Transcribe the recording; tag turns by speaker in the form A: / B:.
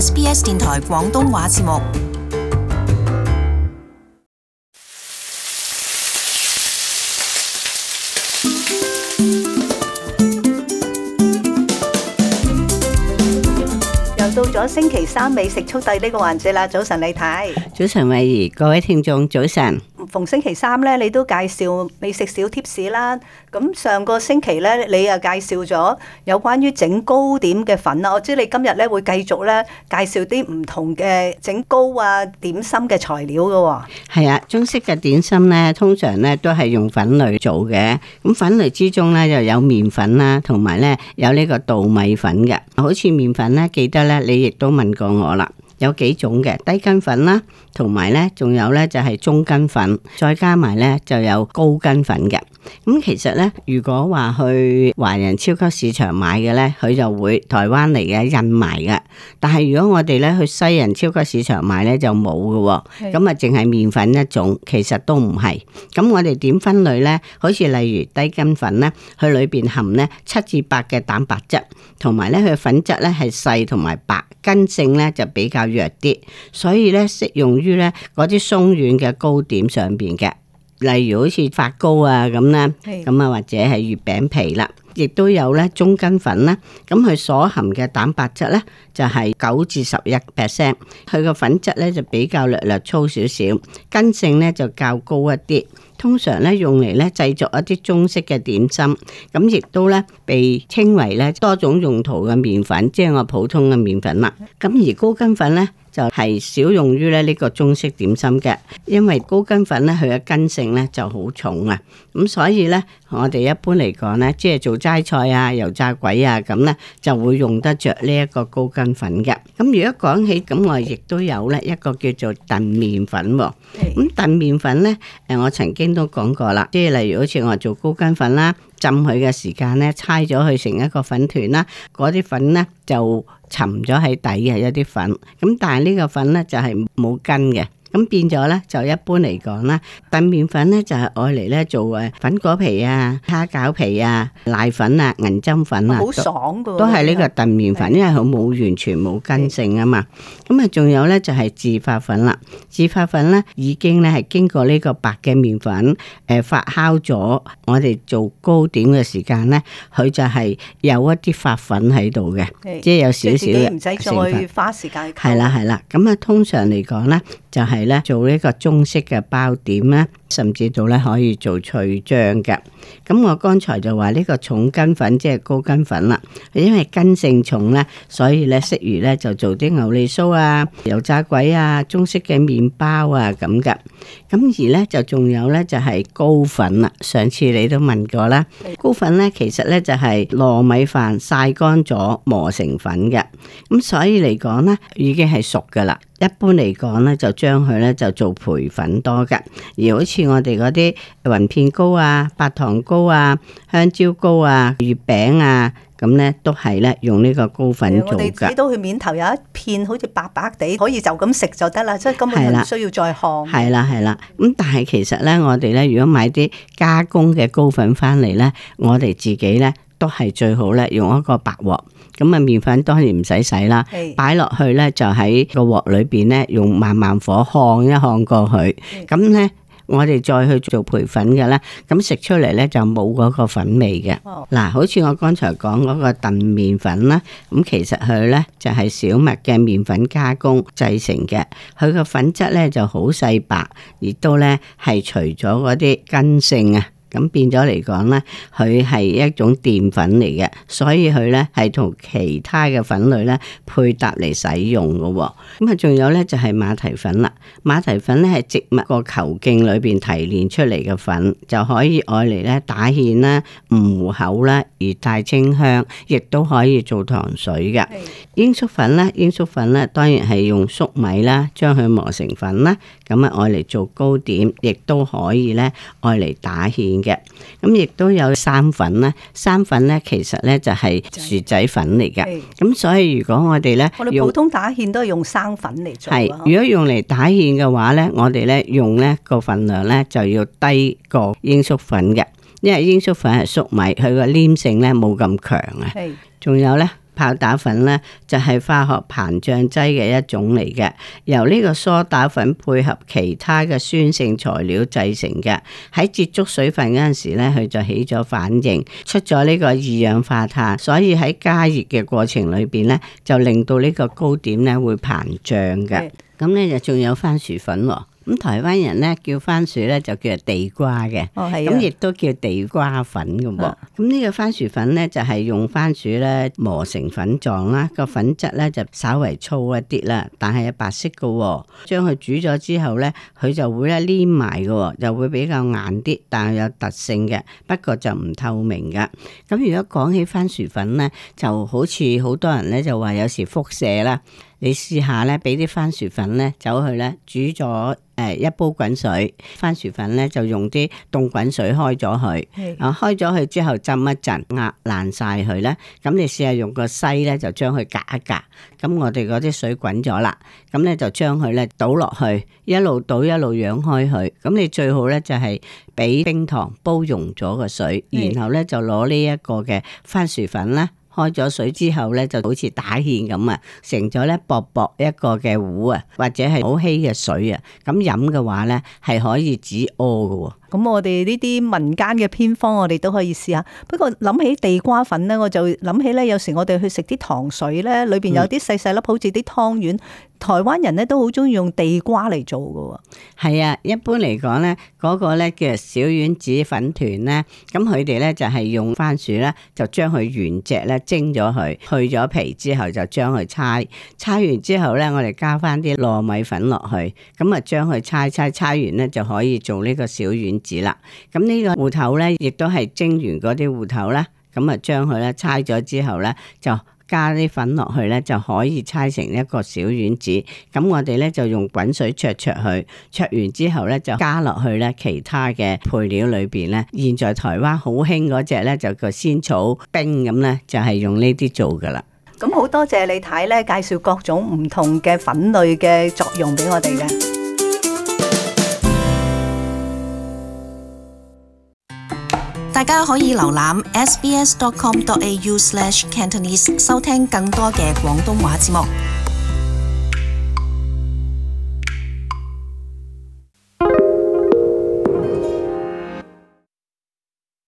A: SBS 電台廣東話節目。
B: 到咗星期三美食速遞呢個環節啦，早晨李太，
C: 早晨慧怡，各位聽眾早晨。
B: 逢星期三咧，你都介紹美食小貼士啦。咁上個星期咧，你又介紹咗有關於整糕點嘅粉啦。我知你今日咧會繼續咧介紹啲唔同嘅整糕啊點心嘅材料噶。
C: 係啊，中式嘅點心咧，通常咧都係用粉類做嘅。咁粉類之中咧就有麵粉啦，同埋咧有呢個稻米粉嘅。好似麵粉咧，記得咧你亦都問過我啦。有幾種嘅低筋粉啦，同埋咧仲有咧就係中筋粉，再加埋咧就有高筋粉嘅。咁其實咧，如果話去華人超級市場買嘅咧，佢就會台灣嚟嘅印埋嘅。但係如果我哋咧去西人超級市場買咧就冇嘅，咁啊淨係麵粉一種，其實都唔係。咁我哋點分類咧？好似例如低筋粉咧，佢裏邊含咧7至8嘅蛋白質，同埋咧佢粉質咧係細同埋白，筋性咧就比較弱啲，所以咧適用於咧嗰啲鬆軟嘅糕點上邊嘅。例如好似發糕啊咁啦，咁啊或者係月餅皮啦，亦都有咧中筋粉啦。咁佢所含嘅蛋白質咧就係9至11%，佢個粉質咧就比較略略粗少少，筋性咧就較高一啲。通常咧用嚟咧製作一啲中式嘅點心，咁亦都咧被稱為咧多種用途嘅麵粉，即係我普通嘅麵粉啦。咁而高筋粉咧就係少用於咧呢個中式點心嘅，因為高筋粉咧佢嘅筋性咧就好重啊，咁所以咧我哋一般嚟講咧，即係做齋菜啊、油炸鬼啊咁咧，就會用得着呢一個高筋粉嘅。咁如果講起咁，我亦都有咧一個叫做燉麵粉喎。咁燉麵粉咧，我曾經都講過啦，即係例如好似我做高筋粉啦，浸佢嘅時間咧，搓咗佢成一個粉團啦，嗰啲粉咧就沉咗喺底嘅一啲粉，咁但係呢個粉咧就係冇根嘅。咁變咗咧，就一般嚟講啦，燉麵粉咧就係愛嚟咧做粉果皮啊、蝦餃皮啊、瀨粉啊、銀針粉啊，
B: 好爽噶，
C: 都係呢個燉麵粉，因為佢冇完全冇筋性啊嘛。咁啊，仲有咧就係自發粉啦。自發粉咧已經咧係經過呢個白嘅麵粉發酵咗，我哋做糕點嘅時間咧，佢就係有一啲發粉喺度嘅，即係有少少嘅成分，
B: 唔使再花時間。
C: 係啦，咁啊通常嚟講咧就係咧做呢個中式嘅包點咧，甚至到咧可以做脆漿嘅。咁我剛才就話呢個重筋粉即係高筋粉啦，因為筋性重咧，所以咧適宜咧就做啲牛脷酥啊、油炸鬼啊、中式嘅麵包啊咁嘅。咁而咧就仲有咧就係糕粉啦。上次你都問過啦，糕粉咧其實咧就係糯米飯曬乾咗磨成粉嘅。咁所以嚟講咧已經係熟噶啦。一般嚟講咧，就將佢咧就做培粉多嘅，而好似我哋嗰啲雲片糕啊、白糖糕啊、香蕉糕啊、月餅啊，咁咧都係咧用呢個糕粉做嘅。
B: 我哋睇到佢面頭有一片好似白白地，可以就咁食就得啦，即係根本唔需要再烘。係
C: 啦，咁但係其實咧，我哋咧如果買啲加工嘅糕粉翻嚟咧，我哋自己咧都係最好咧用一個白鑊。咁啊，麵粉當然唔使洗啦，擺落去咧就喺個鑊裏邊咧，用慢慢火烘一烘過去。咁咧，我哋再去做培粉嘅咧，咁食出嚟咧就冇嗰個粉味嘅。嗱，好似我剛才講嗰個燉麵粉啦，咁其實佢咧就係小麥嘅麵粉加工製成嘅，佢個粉質咧就好細白，亦都咧係除咗嗰啲筋性啊。咁變咗嚟講咧，佢係一種澱粉嚟嘅，所以佢咧係同其他嘅粉類咧配搭嚟使用嘅喎。咁啊，仲有咧就係馬蹄粉啦。馬蹄粉咧係植物個球莖裏邊提煉出嚟嘅粉，就可以愛嚟咧打芡啦、糊口啦，而帶清香，亦都可以做糖水嘅。鷹粟粉咧當然係用粟米啦，將佢磨成粉啦，咁啊愛嚟做糕點，亦都可以咧愛嚟打芡嘅。咁亦都有生粉啦，生粉咧其實咧就係薯仔粉嚟嘅。咁所以如果我哋咧，
B: 我哋普通打芡都係用生粉嚟做。
C: 係，如果用嚟打芡嘅話咧，我哋咧用咧個份量咧就要低過鷹粟粉嘅，因為鷹粟粉係粟米，佢個黏性咧冇咁強啊。仲有咧泡打粉咧就係化學膨脹劑嘅一種嚟嘅，由呢個梳打粉配合其他嘅酸性材料製成嘅。喺接觸水分嗰陣時咧，佢就起咗反應，出咗呢個二氧化碳，所以喺加熱嘅過程裏邊咧，就令到呢個糕點咧會膨脹嘅。咁咧就仲有番薯粉喎。咁台灣人咧叫番薯咧就叫做地瓜嘅，咁亦都叫地瓜粉嘅喎。咁呢個番薯粉咧就係用番薯咧磨成粉狀啦，個粉質咧就稍為粗一啲啦，但係有白色嘅。將佢煮咗之後咧，佢就會咧黏埋嘅，就會比較硬啲，但係有特性嘅，不過就唔透明嘅。咁如果講起番薯粉咧，就好似好多人咧就話有時輻射啦。你試下咧，俾啲番薯粉咧走去咧煮咗一煲滾水，番薯粉咧就用啲凍滾水開咗佢，開咗佢之後浸一陣，壓爛晒佢咧。咁你試下用個篩咧就將佢隔一隔，咁我哋嗰啲水滾咗啦，咁咧就將佢咧倒落去，一路倒一路揚開佢。咁你最好咧就係俾冰糖煲溶咗個水，然後咧就攞呢一個嘅番薯粉咧。開咗水之後咧，就好似打芡咁啊，成咗咧薄薄一個嘅糊啊，或者係好稀嘅水啊，咁飲嘅話咧係可以止屙㗎。
B: 咁我哋呢啲民間嘅偏方，我哋都可以試下。不過諗起地瓜粉咧，我就諗起咧，有時我哋去食啲糖水咧，裏邊有啲細細粒，好似啲湯圓。台灣人咧都好中意用地瓜嚟做㗎。
C: 係啊，一般嚟講咧，嗰個咧叫小丸子粉團咧，咁佢哋咧就係用番薯咧，就將佢原隻咧蒸咗佢，去咗皮之後就將佢搓完之後咧，我哋加翻啲糯米粉落去，咁啊將佢搓完咧就可以做呢個小丸子啦。咁呢個芋頭咧，亦都係蒸完嗰啲芋頭咧，咁啊將佢咧搓咗之後咧就。加啲粉落去咧，就可以搓成一個小丸子。咁我哋咧就用滾水焯佢，焯完之後咧就加落去咧其他嘅配料裏邊咧。現在台灣好興嗰隻咧就個仙草冰咁咧，就係用呢啲做噶啦。
B: 咁好多謝李太咧介紹各種唔同嘅粉類嘅作用俾我哋嘅。
A: 大家可以瀏覽 sbs.com.au/cantonese 收聽更多嘅廣東話節目。